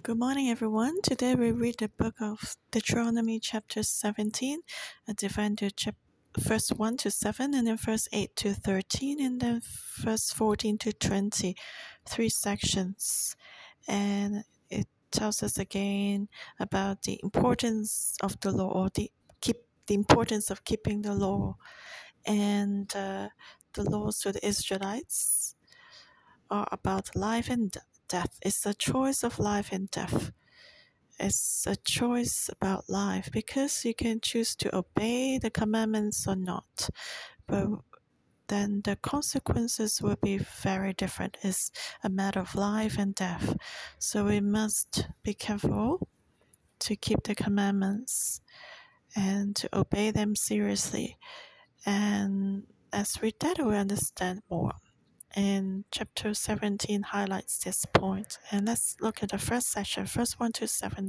Good morning, everyone. Today we read the book of Deuteronomy, chapter 17, divided into verse 1 to 7, and then verse 8 to 13, and then verse 14 to 20, three sections. And it tells us again about the importance of the law, or the importance of keeping the law, and the laws to the Israelites are about life and death. It's a choice of life and death. It's a choice about life because you can choose to obey the commandments or not. But then the consequences will be very different. It's a matter of life and death. So we must be careful to keep the commandments and to obey them seriously. And as we read that, we understand more. And chapter 17 highlights this point. And let's look at the first section, verse 1 to 7.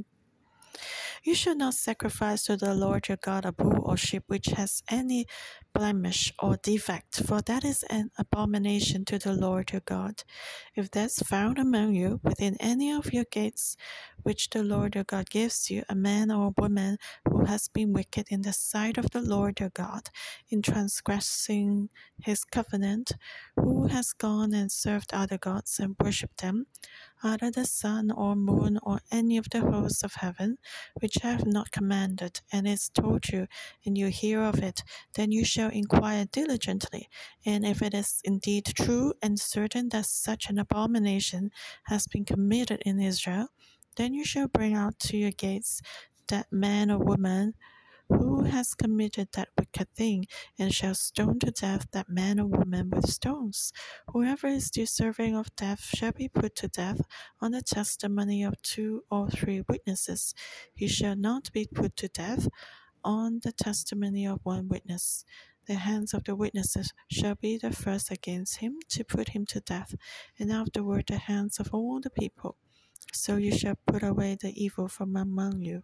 You shall not sacrifice to the Lord your God a bull or sheep which has any blemish or defect, for that is an abomination to the Lord your God. If there's found among you within any of your gates, which the Lord your God gives you, a man or a woman who has been wicked in the sight of the Lord your God, in transgressing his covenant, who has gone and served other gods and worshipped them, either the sun or moon or any of the hosts of heaven, which I have not commanded, and is told you, and you hear of it, then you shall inquire diligently. And if it is indeed true and certain that such an abomination has been committed in Israel, then you shall bring out to your gates that man or woman who has committed that wicked thing, and shall stone to death that man or woman with stones. Whoever is deserving of death shall be put to death on the testimony of 2 or 3 witnesses. He shall not be put to death on the testimony of 1 witness. The hands of the witnesses shall be the first against him to put him to death, and afterward the hands of all the people. So you shall put away the evil from among you.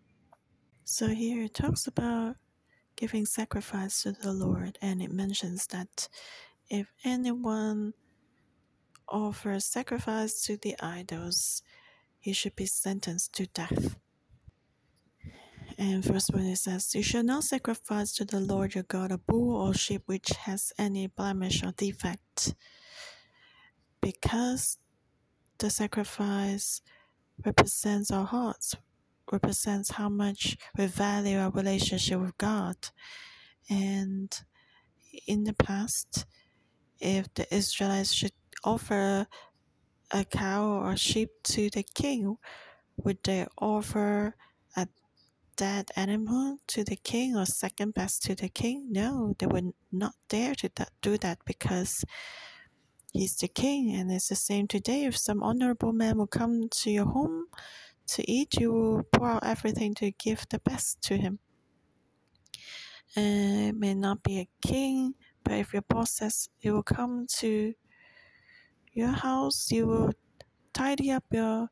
So here it talks about giving sacrifice to the Lord, and it mentions that if anyone offers sacrifice to the idols, he should be sentenced to death. And verse 1 it says, You shall not sacrifice to the Lord your God a bull or sheep which has any blemish or defect, because the sacrifice represents our hearts, represents how much we value our relationship with God. And in the past, if the Israelites should offer a cow or a sheep to the king, would they offer a dead animal to the king or second best to the king? No, they would not dare to do that because he's the king. And it's the same today. If some honorable man will come to your home to eat, you will pour out everything to give the best to him. And it may not be a king, but if your boss says it will come to your house, you will tidy up your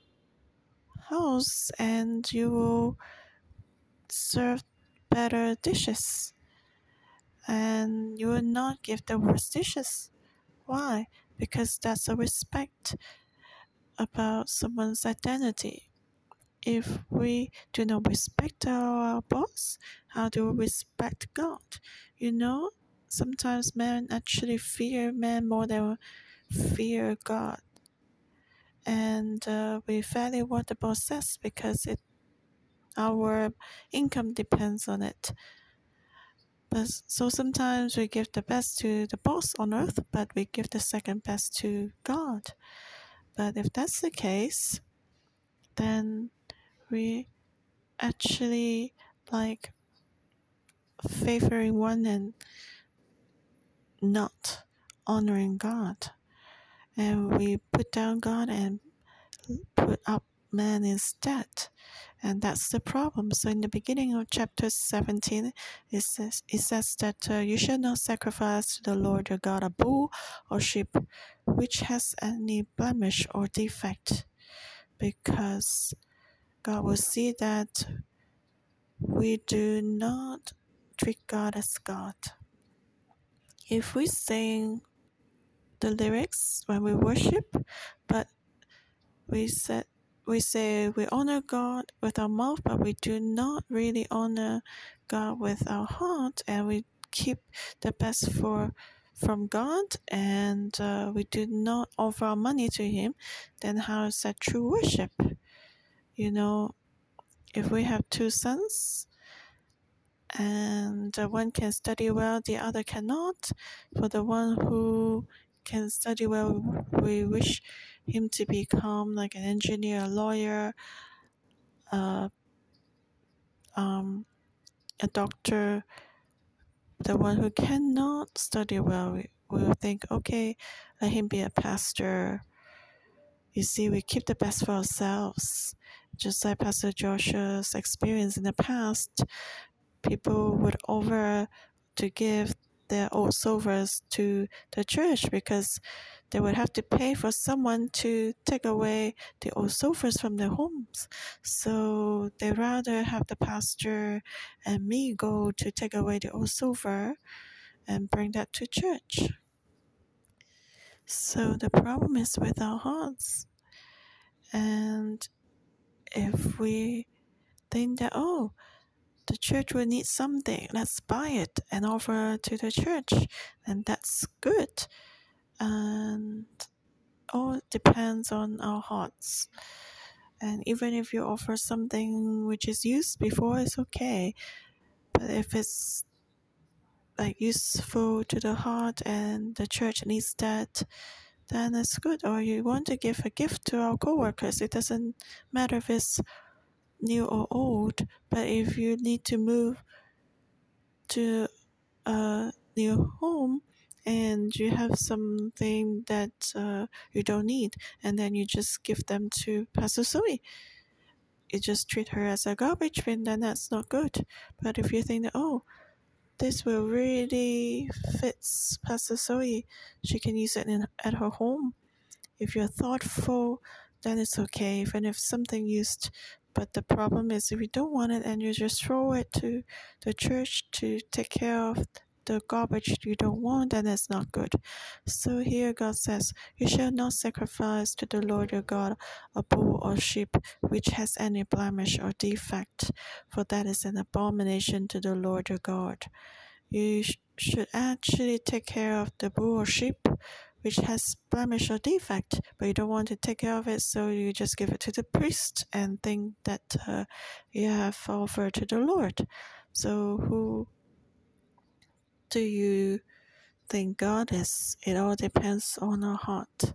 house and you will serve better dishes, and you will not give the worst dishes. Why? Because that's a respect about someone's identity. If we do not respect our boss, how do we respect God? Sometimes men actually fear men more than fear God. And we value what the boss says because our income depends on it. So sometimes we give the best to the boss on earth, but we give the second best to God. But if that's the case, then we actually like favoring one and not honoring God. And we put down God and put up man instead. And that's the problem. So in the beginning of chapter 17, it says that you shall not sacrifice to the Lord your God a bull or sheep which has any blemish or defect, because God will see that we do not treat God as God. If we sing the lyrics when we worship, but we we say we honor God with our mouth, but we do not really honor God with our heart, and we keep the best from God, and we do not offer our money to Him, then how is that true worship? If we have two sons, and one can study well, the other cannot. For the one who can study well, we wish him to become like an engineer, a lawyer, a doctor. The one who cannot study well, we will think, okay, let him be a pastor. You see, we keep the best for ourselves. Just like Pastor Joshua's experience in the past, people would offer to give their old silvers to the church because they would have to pay for someone to take away the old silvers from their homes. So they rather have the pastor and me go to take away the old silver and bring that to church. So the problem is with our hearts. And if we think that, the church will need something, let's buy it and offer to the church, and that's good. And all depends on our hearts. And even if you offer something which is used before, it's okay. But if it's like useful to the heart and the church needs that, then it's good. Or you want to give a gift to our co-workers, it doesn't matter if it's new or old, but if you need to move to a new home and you have something that you don't need, and then you just give them to Pastor Zoe, you just treat her as a garbage bin, then that's not good. But if you think that, this will really fits Pastor Zoe, she can use it at her home. If you're thoughtful, then it's okay, even if something used. But the problem is if you don't want it and you just throw it to the church to take care of the garbage you don't want, then it's not good. So here God says, you shall not sacrifice to the Lord your God a bull or sheep which has any blemish or defect, for that is an abomination to the Lord your God. You should actually take care of the bull or sheep which has blemish or defect, but you don't want to take care of it, so you just give it to the priest and think that you have offered to the Lord. So who do you think God is? It all depends on our heart,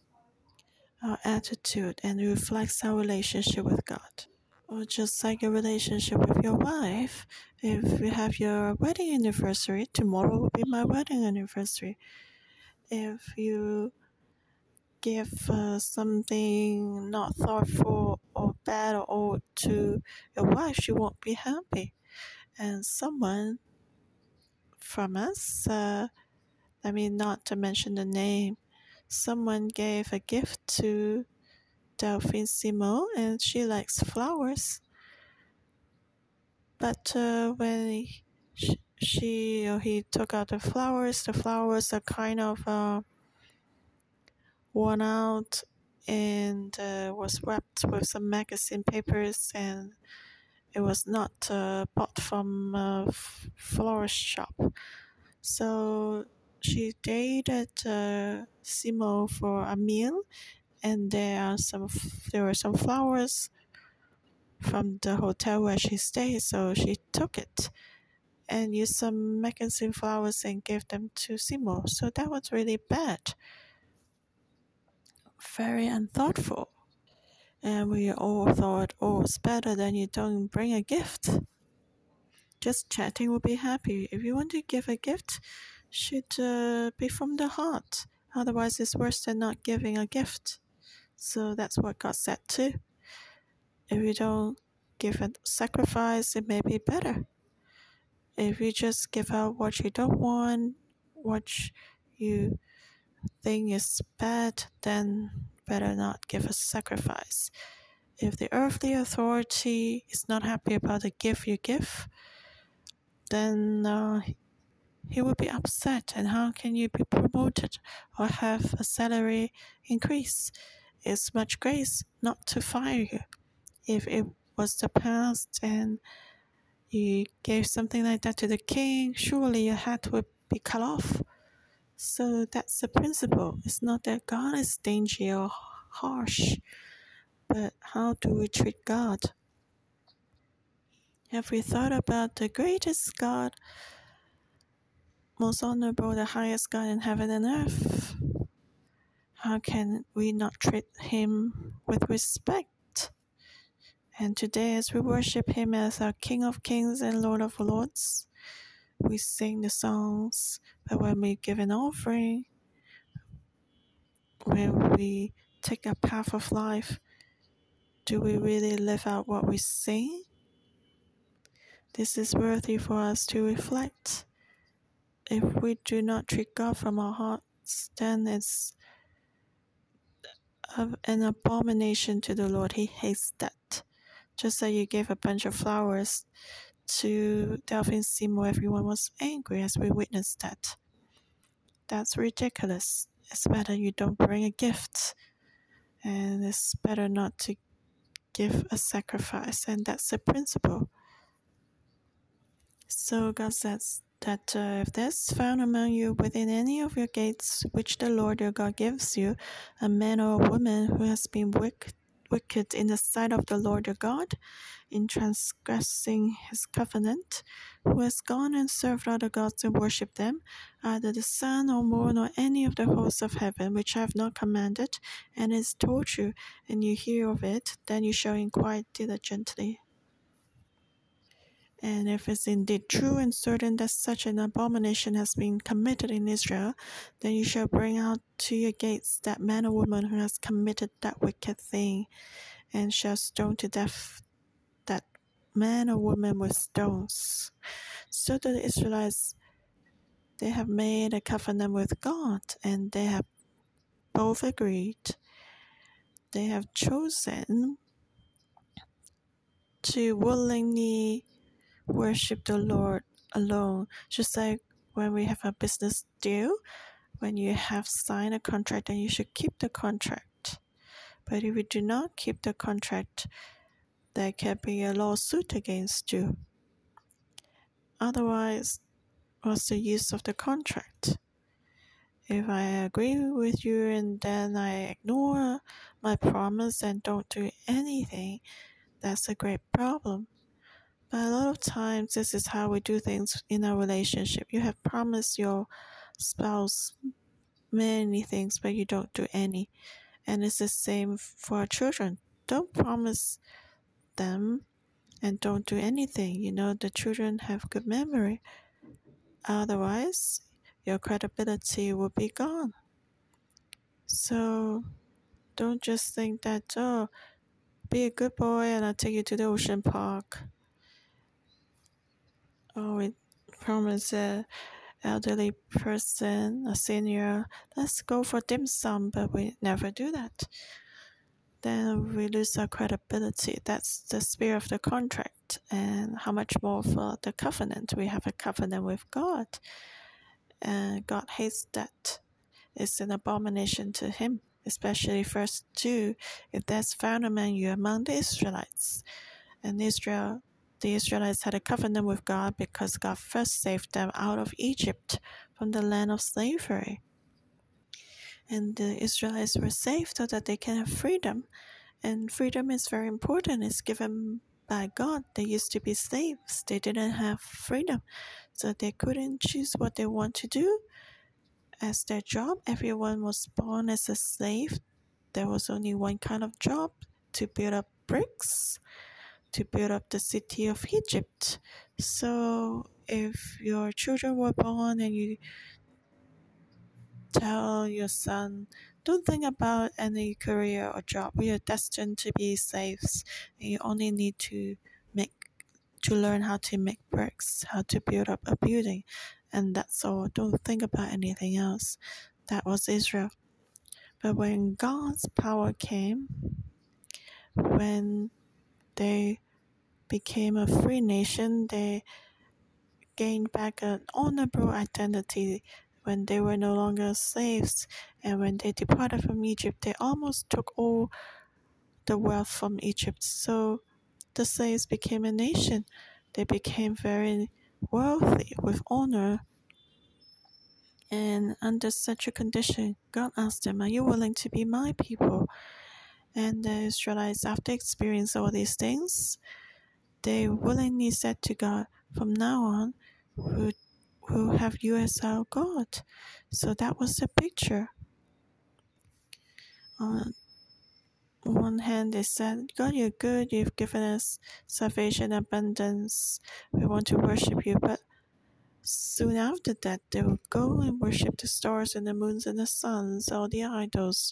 our attitude, and it reflects our relationship with God. Or just like a relationship with your wife, if you have your wedding anniversary, tomorrow will be my wedding anniversary. If you give something not thoughtful or bad or old to your wife, she won't be happy. And someone from us, I mean, not to mention the name, someone gave a gift to Delphine Simon, and she likes flowers. But when she or he took out the flowers are kind of worn out and was wrapped with some magazine papers, and it was not bought from a florist shop. So she dated Simo for a meal, and there were some flowers from the hotel where she stayed, so she took it and used some magazine flowers and gave them to Simo. So that was really bad, very unthoughtful. And we all thought, it's better than you don't bring a gift. Just chatting will be happy. If you want to give a gift, should be from the heart. Otherwise, it's worse than not giving a gift. So that's what God said too. If you don't give a sacrifice, it may be better. If you just give out what you don't want, what you think is bad, then better not give a sacrifice. If the earthly authority is not happy about the gift you give, then he will be upset. And how can you be promoted or have a salary increase it's much grace not to fire you. If it was the past and you gave something like that to the king, surely your head would be cut off. So that's the principle. It's not that God is stingy or harsh, but how do we treat God? Have we thought about the greatest God, most honorable, the highest God in heaven and earth? How can we not treat him with respect? And today, as we worship him as our King of Kings and Lord of Lords, we sing the songs, but when we give an offering, when we take a path of life, do we really live out what we sing? This is worthy for us to reflect. If we do not treat God from our hearts, then it's an abomination to the Lord. He hates that. Just like you gave a bunch of flowers to Delphine Seymour, everyone was angry as we witnessed that. That's ridiculous. It's better you don't bring a gift, and it's better not to give a sacrifice, and that's the principle. So God says that if there's found among you within any of your gates which the Lord your God gives you, a man or a woman who has been wicked in the sight of the Lord your God, in transgressing his covenant, who has gone and served other gods and worshipped them, either the sun or moon or any of the hosts of heaven, which I have not commanded, and is told you, and you hear of it, then you shall inquire diligently. And if it's indeed true and certain that such an abomination has been committed in Israel, then you shall bring out to your gates that man or woman who has committed that wicked thing, and shall stone to death that man or woman with stones. So the Israelites, they have made a covenant with God, and they have both agreed. They have chosen to willingly worship the Lord alone. Just like when we have a business deal, when you have signed a contract, then you should keep the contract. But if you do not keep the contract, there can be a lawsuit against you. Otherwise, what's the use of the contract? If I agree with you and then I ignore my promise and don't do anything, that's a great problem. But a lot of times, this is how we do things in a relationship. You have promised your spouse many things, but you don't do any. And it's the same for our children. Don't promise them and don't do anything. The children have good memory. Otherwise, your credibility will be gone. So don't just think that, oh, be a good boy and I'll take you to the ocean park. Oh, we promise an elderly person, a senior, let's go for dim sum, but we never do that. Then we lose our credibility. That's the spirit of the contract. And how much more for the covenant? We have a covenant with God. And God hates that. It's an abomination to him, especially verse 2. If there's found among you among the Israelites. And the Israelites had a covenant with God because God first saved them out of Egypt from the land of slavery. And the Israelites were saved so that they can have freedom. And freedom is very important. It's given by God. They used to be slaves. They didn't have freedom. So they couldn't choose what they want to do as their job. Everyone was born as a slave. There was only one kind of job, to build up bricks, to build up the city of Egypt. So if your children were born and you tell your son, don't think about any career or job, we are destined to be slaves, and you only need to learn how to make bricks, how to build up a building, and that's all. Don't think about anything else. That was Israel. But when God's power came, when they became a free nation, they gained back an honorable identity when they were no longer slaves, and when they departed from Egypt, they almost took all the wealth from Egypt. So the slaves became a nation. They became very wealthy with honor. And under such a condition, God asked them, "Are you willing to be my people?" And the Israelites, after experiencing all these things, they willingly said to God, "From now on, we'll have you as our God." So that was the picture. On one hand, they said, "God, you're good. You've given us salvation abundance. We want to worship you." But soon after that, they would go and worship the stars and the moons and the suns, all the idols.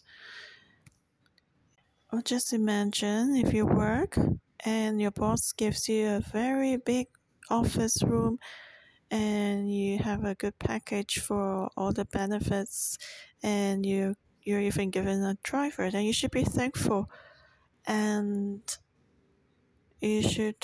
Or just imagine if you work and your boss gives you a very big office room and you have a good package for all the benefits, and you're even given a driver, then you should be thankful, and you should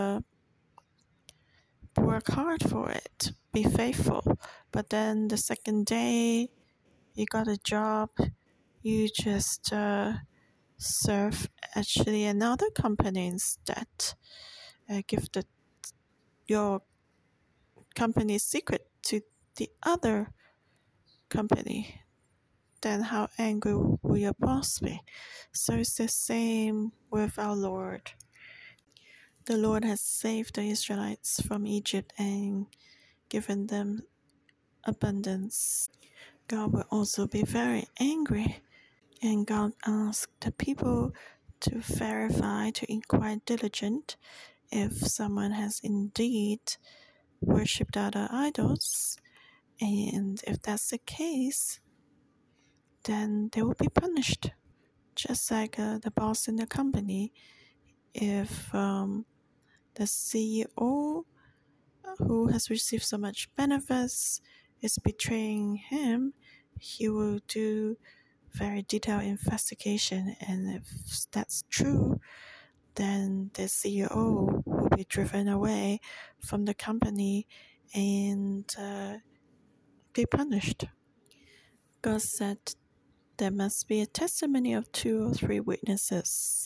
work hard for it, be faithful. But then the second day you got a job, you just serve actually another company instead. Give your company's secret to the other company. Then how angry will your boss be? So it's the same with our Lord. The Lord has saved the Israelites from Egypt and given them abundance. God will also be very angry, and God asked the people to verify, to inquire diligent if someone has indeed worshipped other idols, and if that's the case, then they will be punished, just like the boss in the company. If the CEO who has received so much benefits is betraying him, he will do very detailed investigation, and if that's true, then the CEO will be driven away from the company and be punished. God said there must be a testimony of 2 or 3 witnesses,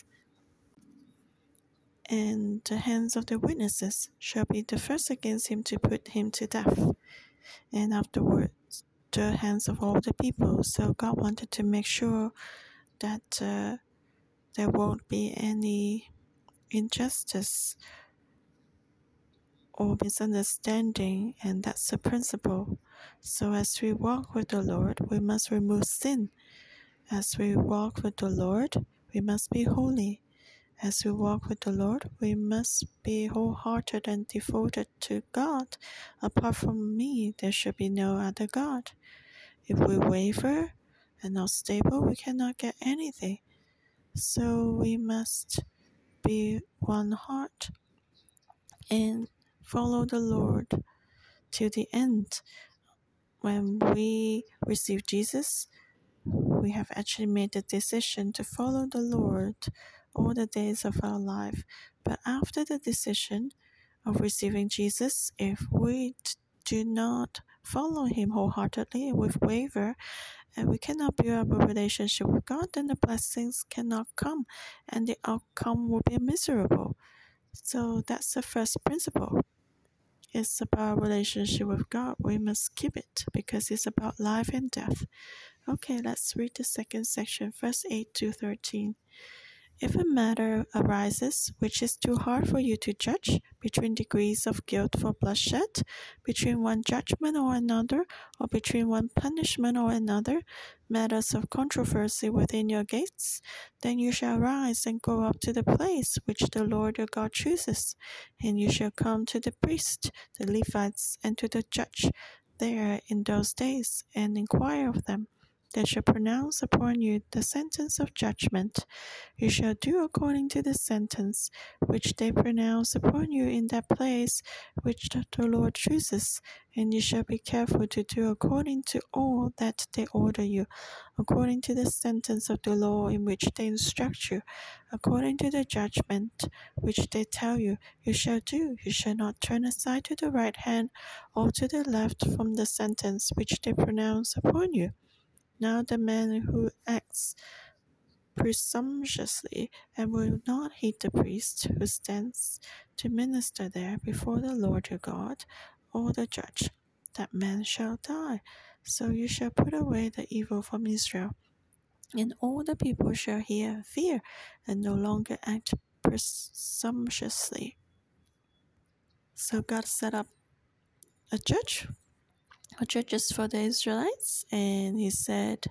and the hands of the witnesses shall be the first against him to put him to death, and afterwards the hands of all the people. So God wanted to make sure that there won't be any injustice or misunderstanding, and that's the principle. So as we walk with the Lord, we must remove sin. As we walk with the Lord, we must be holy. As we walk with the Lord, we must be wholehearted and devoted to God. Apart from me, there should be no other God. If we waver and not stable, we cannot get anything. So we must be one heart and follow the Lord till the end. When we receive Jesus, we have actually made the decision to follow the Lord all the days of our life. But after the decision of receiving Jesus, if we do not follow him wholeheartedly, with waver, and we cannot build up a relationship with God, then the blessings cannot come, and the outcome will be miserable. So that's the first principle. It's about relationship with God. We must keep it because it's about life and death. Okay, let's read the second section, verse 8 to 13. If a matter arises which is too hard for you to judge, between degrees of guilt for bloodshed, between one judgment or another, or between one punishment or another, matters of controversy within your gates, then you shall rise and go up to the place which the Lord your God chooses, and you shall come to the priest, the Levites, and to the judge there in those days, and inquire of them. they shall pronounce upon you the sentence of judgment. You shall do according to the sentence which they pronounce upon you in that place which the Lord chooses, and you shall be careful to do according to all that they order you, according to the sentence of the law in which they instruct you, according to the judgment which they tell you, you shall do. You shall not turn aside to the right hand or to the left from the sentence which they pronounce upon you. Now the man who acts presumptuously and will not heed the priest who stands to minister there before the Lord your God, or the judge, that man shall die. So you shall put away the evil from Israel, and all the people shall hear and fear, and no longer act presumptuously. So God set up a judges for the Israelites, and he said,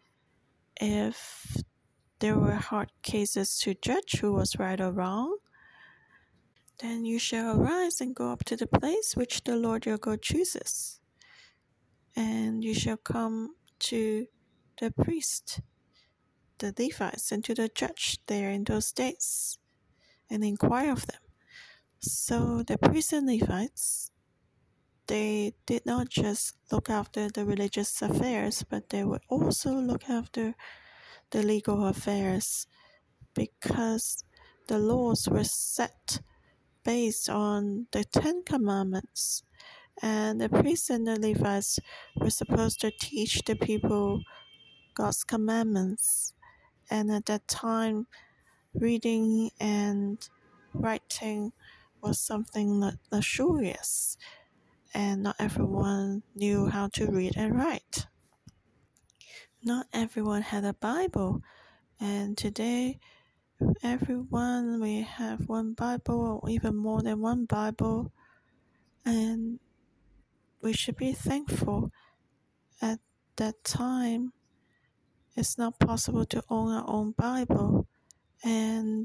if there were hard cases to judge who was right or wrong, then you shall arise and go up to the place which the Lord your God chooses, and you shall come to the priest, the Levites, and to the judge there in those days, and inquire of them. So the priests and Levites, they did not just look after the religious affairs, but they would also look after the legal affairs, because the laws were set based on the Ten Commandments, and the priests and the Levites were supposed to teach the people God's commandments. And at that time, reading and writing was something luxurious, and not everyone knew how to read and write. Not everyone had a Bible, and today everyone, we have one Bible or even more than one Bible, and we should be thankful. At that time, it's not possible to own our own Bible, and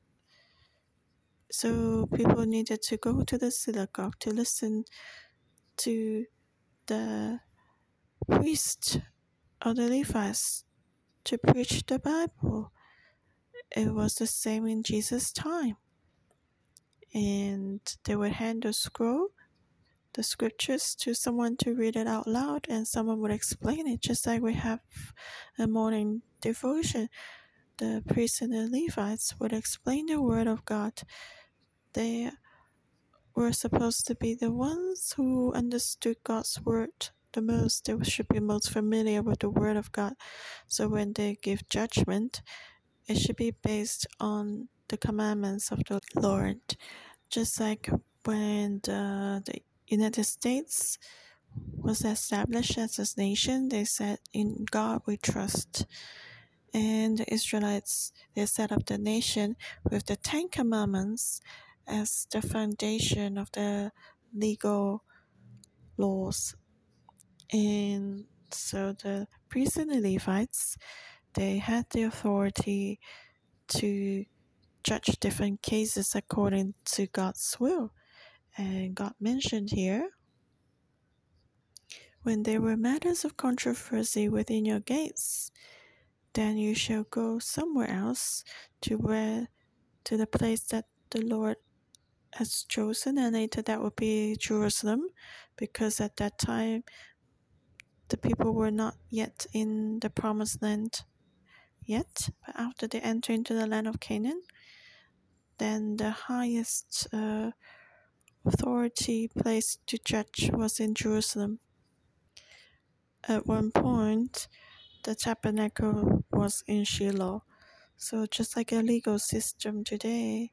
so people needed to go to the synagogue to listen to the priest or the Levites to preach the Bible. It was the same in Jesus' time, and they would hand the scroll, the scriptures, to someone to read it out loud, and someone would explain it, just like we have a morning devotion. The priests and the Levites would explain the word of God. They were supposed to be the ones who understood God's word the most. They should be most familiar with the word of God. So when they give judgment, it should be based on the commandments of the Lord. Just like when the United States was established as a nation, they said, in God we trust. And the Israelites, they set up the nation with the Ten Commandments as the foundation of the legal laws. And so the priests and the Levites, they had the authority to judge different cases according to God's will. And God mentioned here, when there were matters of controversy within your gates, then you shall go somewhere else to the place that the Lord has chosen, and later that would be Jerusalem, because at that time the people were not yet in the promised land yet. But after they enter into the land of Canaan, then the highest authority place to judge was in Jerusalem. At one point, the tabernacle was in Shiloh. So just like a legal system today,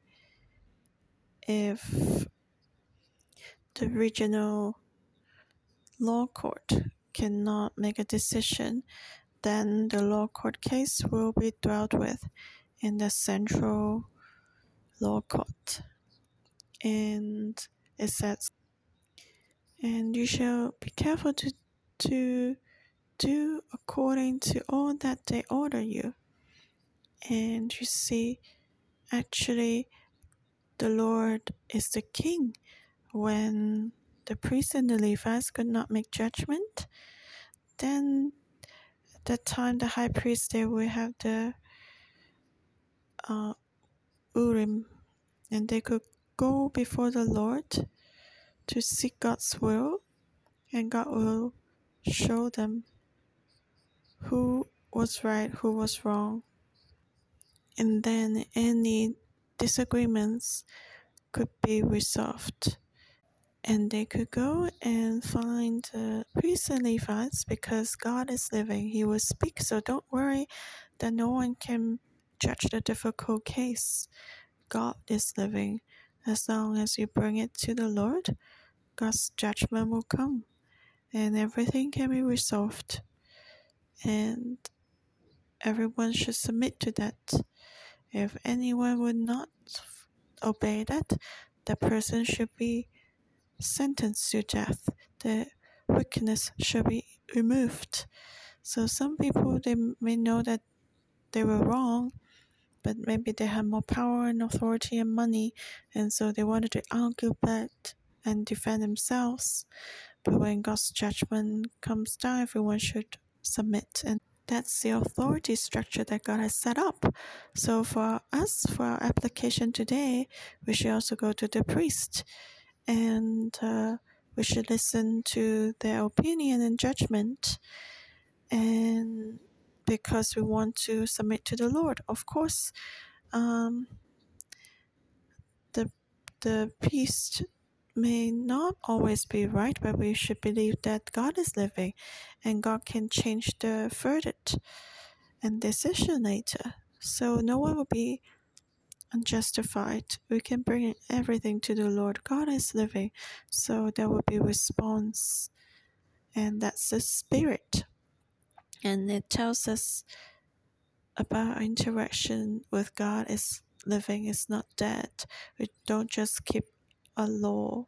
if the regional law court cannot make a decision, then the law court case will be dealt with in the central law court. And it says, and you shall be careful to do according to all that they order you. And you see, actually, the Lord is the king. When the priests and the Levites could not make judgment, then that time, the high priest, they will have the Urim, and they could go before the Lord to seek God's will, and God will show them who was right, who was wrong. And then any disagreements could be resolved. And they could go and find the priests and Levites, because God is living. He will speak, so don't worry that no one can judge the difficult case. God is living. As long as you bring it to the Lord, God's judgment will come, and everything can be resolved. And everyone should submit to that. If anyone would not obey that, the person should be sentenced to death. The wickedness should be removed. So some people, they may know that they were wrong, but maybe they have more power and authority and money, and so they wanted to argue back and defend themselves. But when God's judgment comes down, everyone should submit, and that's the authority structure that God has set up. So for us, for our application today, we should also go to the priest, and we should listen to their opinion and judgment, and because we want to submit to the Lord. Of course, the priest may not always be right, but we should believe that God is living, and God can change the verdict and decision later. So no one will be unjustified. We can bring everything to the Lord. God is living, so there will be response, and that's the spirit. And it tells us about our interaction with God is living, is not dead. We don't just keep a law,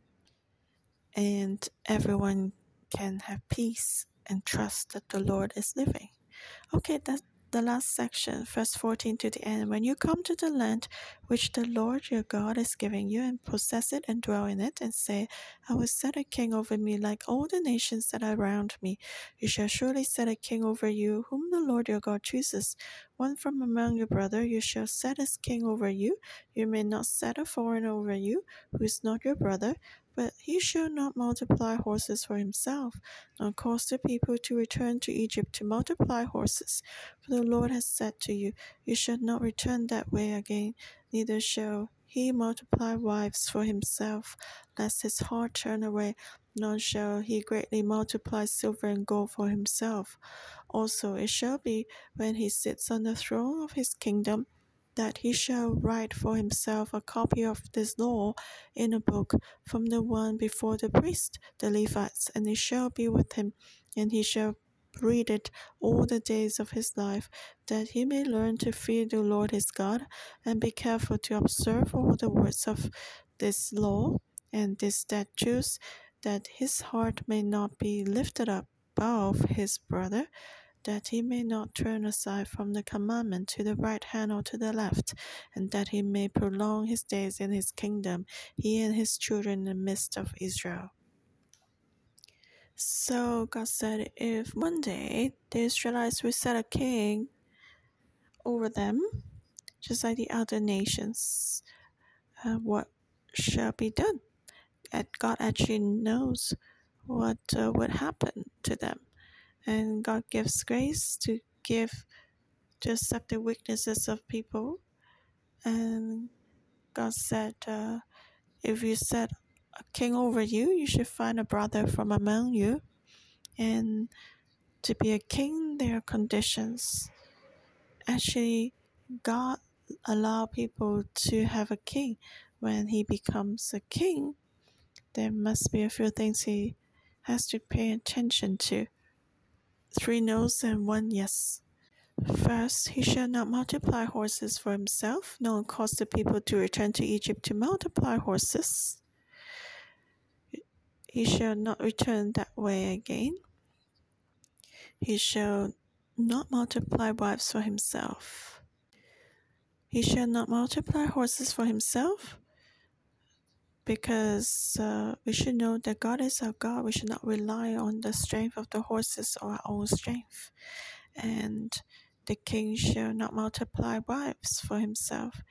and everyone can have peace and trust that the Lord is living. Okay, that's the last section, verse 14 to the end. When you come to the land which the Lord your God is giving you, and possess it and dwell in it, and say, I will set a king over me like all the nations that are around me. You shall surely set a king over you, whom the Lord your God chooses. One from among your brother you shall set as king over you. You may not set a foreigner over you, who is not your brother, but he shall not multiply horses for himself, nor cause the people to return to Egypt to multiply horses. For the Lord has said to you, you shall not return that way again, neither shall he multiply wives for himself, lest his heart turn away, nor shall he greatly multiply silver and gold for himself. Also it shall be, when he sits on the throne of his kingdom, that he shall write for himself a copy of this law in a book from the one before the priest, the Levites, and it shall be with him, and he shall read it all the days of his life, that he may learn to fear the Lord his God, and be careful to observe all the words of this law and these statutes, that his heart may not be lifted up above his brother, that he may not turn aside from the commandment to the right hand or to the left, and that he may prolong his days in his kingdom, he and his children in the midst of Israel. So God said, if one day the Israelites will set a king over them, just like the other nations, what shall be done? And God actually knows what would happen to them, and God gives grace to accept the weaknesses of people. And God said, if you set a king over you, you should find a brother from among you. And to be a king, there are conditions. Actually, God allows people to have a king. When he becomes a king, there must be a few things he has to pay attention to. 3 no's and 1 yes. First, he shall not multiply horses for himself, nor cause the people to return to Egypt to multiply horses. He shall not return that way again. He shall not multiply wives for himself. He shall not multiply horses for himself, because we should know that God is our God. We should not rely on the strength of the horses or our own strength. And the king shall not multiply wives for himself.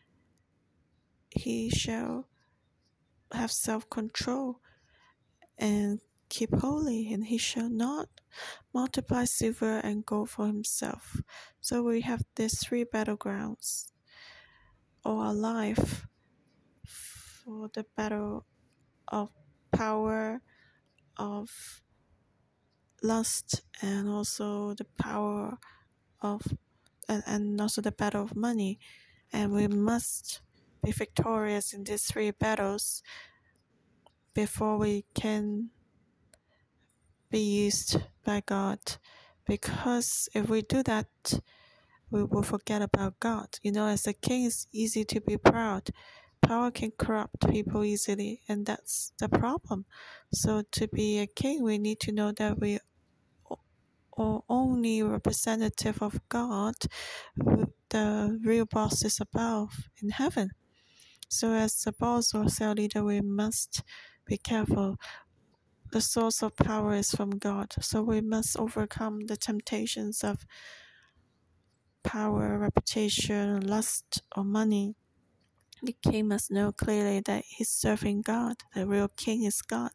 He shall have self-control and keep holy, and he shall not multiply silver and gold for himself. So we have these three battlegrounds all our life: for the battle of power, of lust, and also the power of and also the battle of money. And we must be victorious in these three battles before we can be used by God. Because if we do that, we will forget about God. As a king, it's easy to be proud. Power can corrupt people easily, and that's the problem. So to be a king, we need to know that we are only representative of God. The real boss is above in heaven. So as a boss or cell leader, we must be careful. The source of power is from God. So we must overcome the temptations of power, reputation, lust, or money. The king must know clearly that he's serving God. The real king is God.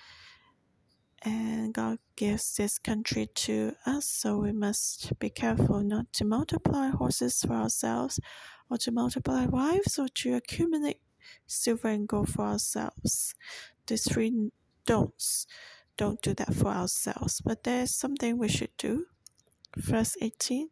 And God gives this country to us, so we must be careful not to multiply horses for ourselves, or to multiply wives, or to accumulate silver and gold for ourselves. These three don'ts. Don't do that for ourselves. But there's something we should do. Verse 18.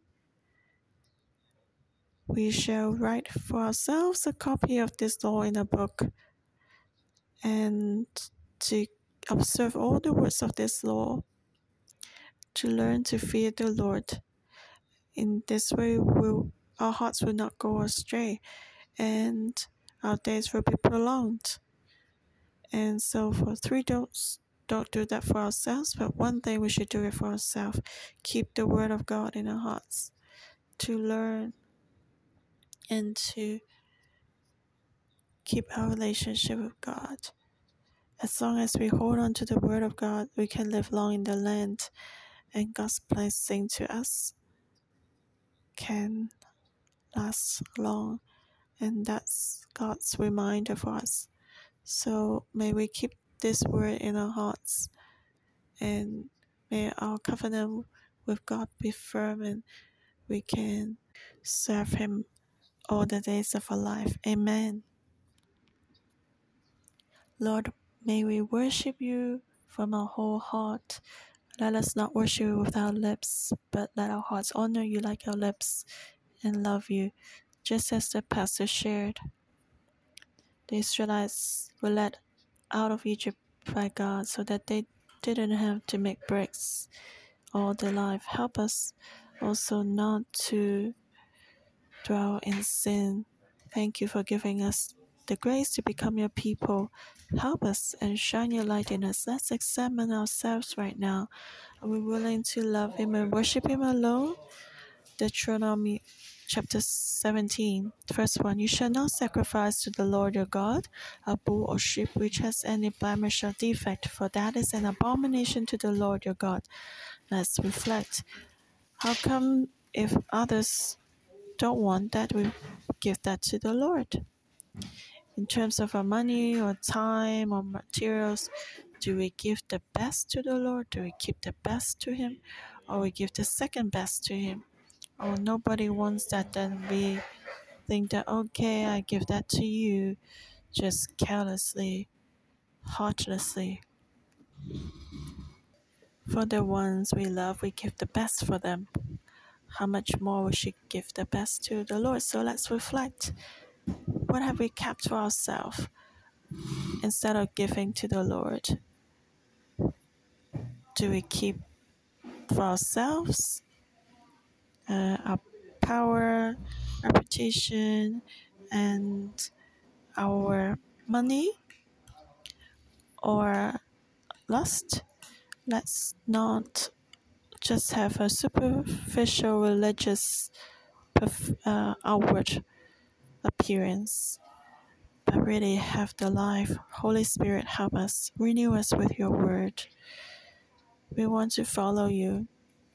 We shall write for ourselves a copy of this law in a book, and to observe all the words of this law, to learn to fear the Lord. In this way, our hearts will not go astray, and our days will be prolonged. And so for three don'ts, don't do that for ourselves, but one thing we should do it for ourselves. Keep the word of God in our hearts, to learn and to keep our relationship with God. As long as we hold on to the word of God, we can live long in the land, and God's blessing to us can last long, and that's God's reminder for us. So may we keep this word in our hearts, and may our covenant with God be firm, and we can serve Him all the days of our life. Amen. Lord, may we worship you from our whole heart. Let us not worship you with our lips, but let our hearts honor you like our lips and love you. Just as the pastor shared, the Israelites were led out of Egypt by God so that they didn't have to make bricks all their life. Help us also not to dwell in sin. Thank you for giving us the grace to become your people. Help us and shine your light in us. Let's examine ourselves right now. Are we willing to love Him and worship Him alone? Deuteronomy chapter 17, verse 1. You shall not sacrifice to the Lord your God a bull or sheep which has any blemish or defect, for that is an abomination to the Lord your God. Let's reflect. How come if others don't want that, we give that to the Lord? In terms of our money or time or materials, do we give the best to the Lord? Do we keep the best to Him? Or we give the second best to Him? Oh, nobody wants that, then we think that, okay, I give that to you, just carelessly, heartlessly. For the ones we love, we give the best for them. How much more we should give the best to the Lord? So let's reflect. What have we kept for ourselves instead of giving to the Lord? Do we keep for ourselves our power, reputation, and our money, or lust? Let's not just have a superficial religious outward appearance, but really have the life. Holy Spirit, help us. Renew us with your word. We want to follow you,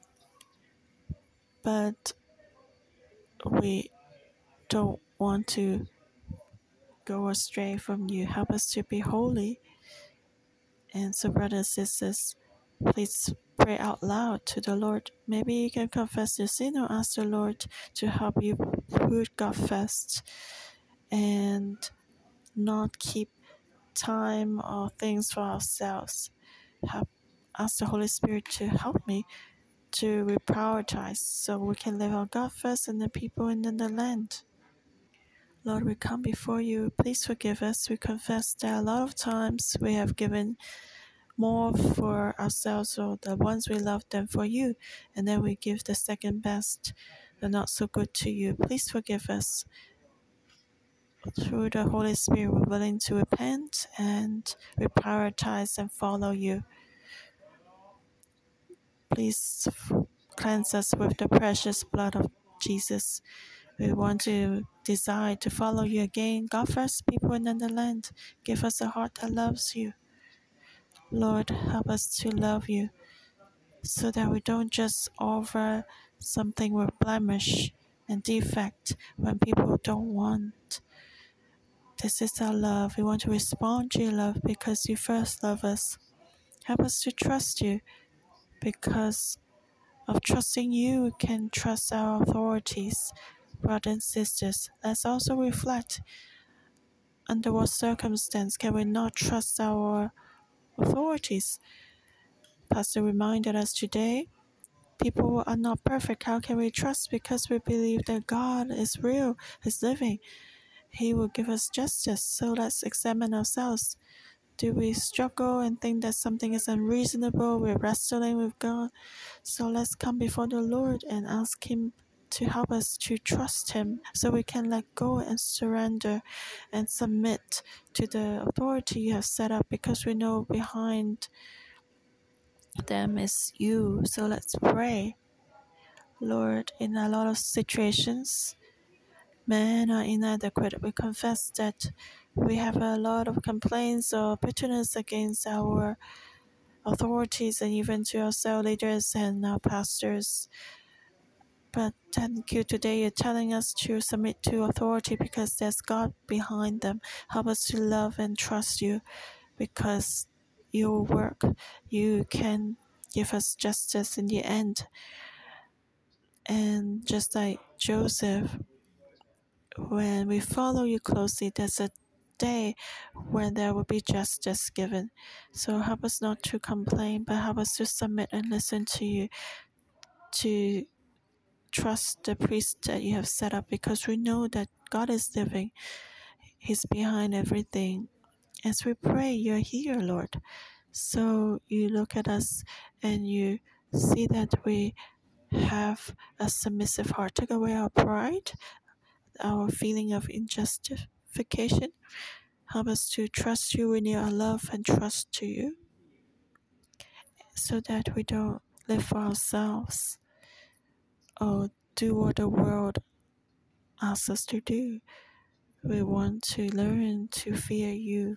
but we don't want to go astray from you. Help us to be holy. And so, brothers and sisters, please pray out loud to the Lord. Maybe you can confess your sin or ask the Lord to help you put God first and not keep time or things for ourselves. Ask the Holy Spirit to help me to reprioritize so we can live on God first and the people and then the land. Lord, we come before you. Please forgive us. We confess that a lot of times we have given more for ourselves or the ones we love than for you, and then we give the second best, the not so good to you. Please forgive us. Through the Holy Spirit, we're willing to repent and reprioritize and follow you. Please cleanse us with the precious blood of Jesus. We want to desire to follow you again. God first, people in the land. Give us a heart that loves you. Lord, help us to love you so that we don't just offer something with blemish and defect when people don't want. This is our love. We want to respond to your love because you first love us. Help us to trust you. Because of trusting you, we can trust our authorities. Brothers and sisters, let's also reflect under what circumstance can we not trust our authorities. Pastor reminded us today, people are not perfect. How can we trust? Because we believe that God is real, is living. He will give us justice. So let's examine ourselves. Do we struggle and think that something is unreasonable? We're wrestling with God. So let's come before the Lord and ask Him to help us to trust Him so we can let go and surrender and submit to the authority you have set up, because we know behind them is you. So let's pray. Lord, in a lot of situations, men are inadequate. We confess that we have a lot of complaints or bitterness against our authorities and even to our cell leaders and our pastors. But thank you, today you're telling us to submit to authority because there's God behind them. Help us to love and trust you, because your work, you can give us justice in the end. And just like Joseph, when we follow you closely, there's a day when there will be justice given. So help us not to complain, but help us to submit and listen to you, to trust the priest that you have set up, because we know that God is living. He's behind everything. As we pray, you're here, Lord. So you look at us and you see that we have a submissive heart. Take away our pride, our feeling of injustification. Help us to trust you, renew our love and trust to you, so that we don't live for ourselves or do what the world asks us to do. We want to learn to fear you.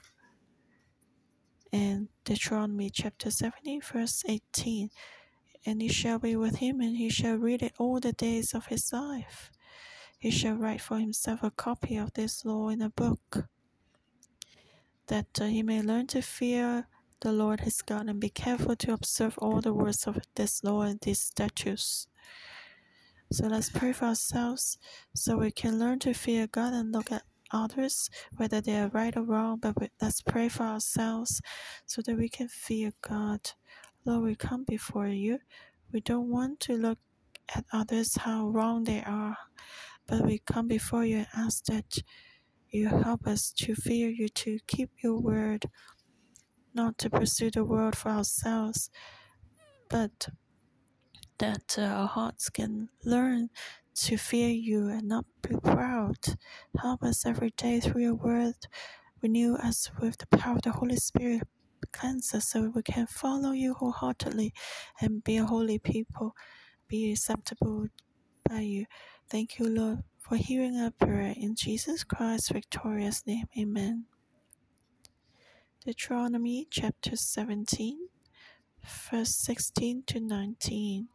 And Deuteronomy chapter 70, verse 18. And he shall be with him, and he shall read it all the days of his life. He shall write for himself a copy of this law in a book, that he may learn to fear the Lord his God, and be careful to observe all the words of this law and these statutes. So let's pray for ourselves so we can learn to fear God and look at others, whether they are right or wrong, but let's pray for ourselves so that we can fear God. Lord, we come before you. We don't want to look at others how wrong they are, but we come before you and ask that you help us to fear you, to keep your word, not to pursue the world for ourselves, but that our hearts can learn to fear you and not be proud. Help us every day through your word. Renew us with the power of the Holy Spirit. Cleanse us so we can follow you wholeheartedly and be a holy people, be acceptable by you. Thank you, Lord, for hearing our prayer. In Jesus Christ's victorious name, amen. Deuteronomy chapter 17, verse 16 to 19.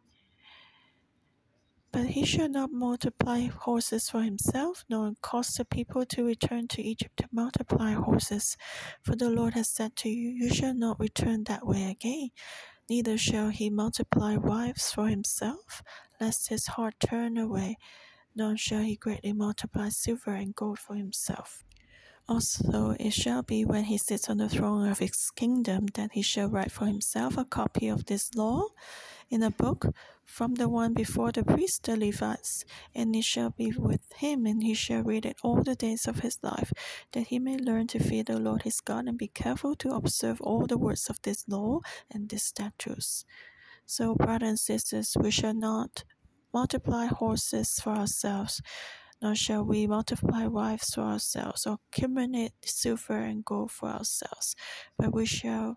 But he shall not multiply horses for himself, nor cause the people to return to Egypt to multiply horses. For the Lord has said to you, you shall not return that way again. Neither shall he multiply wives for himself, lest his heart turn away, nor shall he greatly multiply silver and gold for himself. Also it shall be when he sits on the throne of his kingdom that he shall write for himself a copy of this law in a book from the one before the priests the Levites, and it shall be with him, and he shall read it all the days of his life, that he may learn to fear the Lord his God and be careful to observe all the words of this law and these statutes. So, brothers and sisters, we shall not multiply horses for ourselves, nor shall we multiply wives for ourselves, or accumulate silver and gold for ourselves, but we shall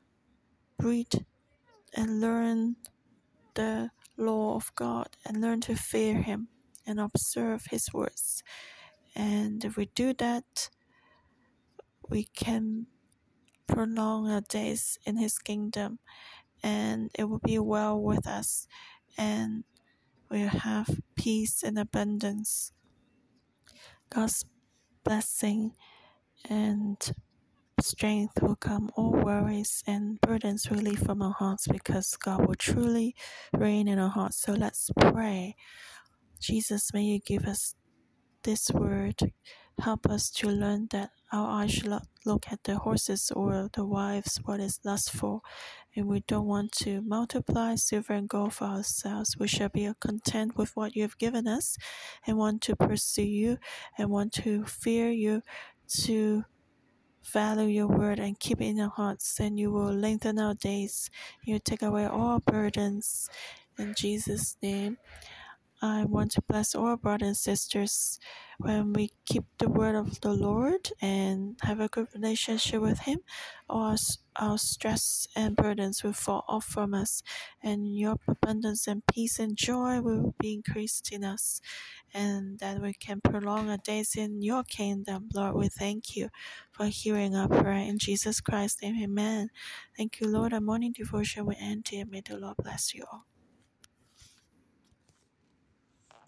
read and learn the law of God and learn to fear him and observe his words. And if we do that, we can prolong our days in his kingdom, and it will be well with us, and we'll have peace and abundance. God's blessing and strength will come, all worries and burdens will leave from our hearts, because God will truly reign in our hearts. So let's pray. Jesus, may you give us this word. Help us to learn that our eyes should not look at the horses or the wives, what is lustful, and we don't want to multiply silver and gold for ourselves. We shall be content with what you have given us, and want to pursue you, and want to fear you, to value your word and keep it in our hearts, and you will lengthen our days. You take away all burdens. In Jesus' name, I want to bless all brothers and sisters when we keep the word of the Lord and have a good relationship with him. Our stress and burdens will fall off from us, and your abundance and peace and joy will be increased in us, and that we can prolong our days in your kingdom. Lord, we thank you for hearing our prayer. In Jesus Christ's name, amen. Thank you, Lord. Our morning devotion will end here. May the Lord bless you all.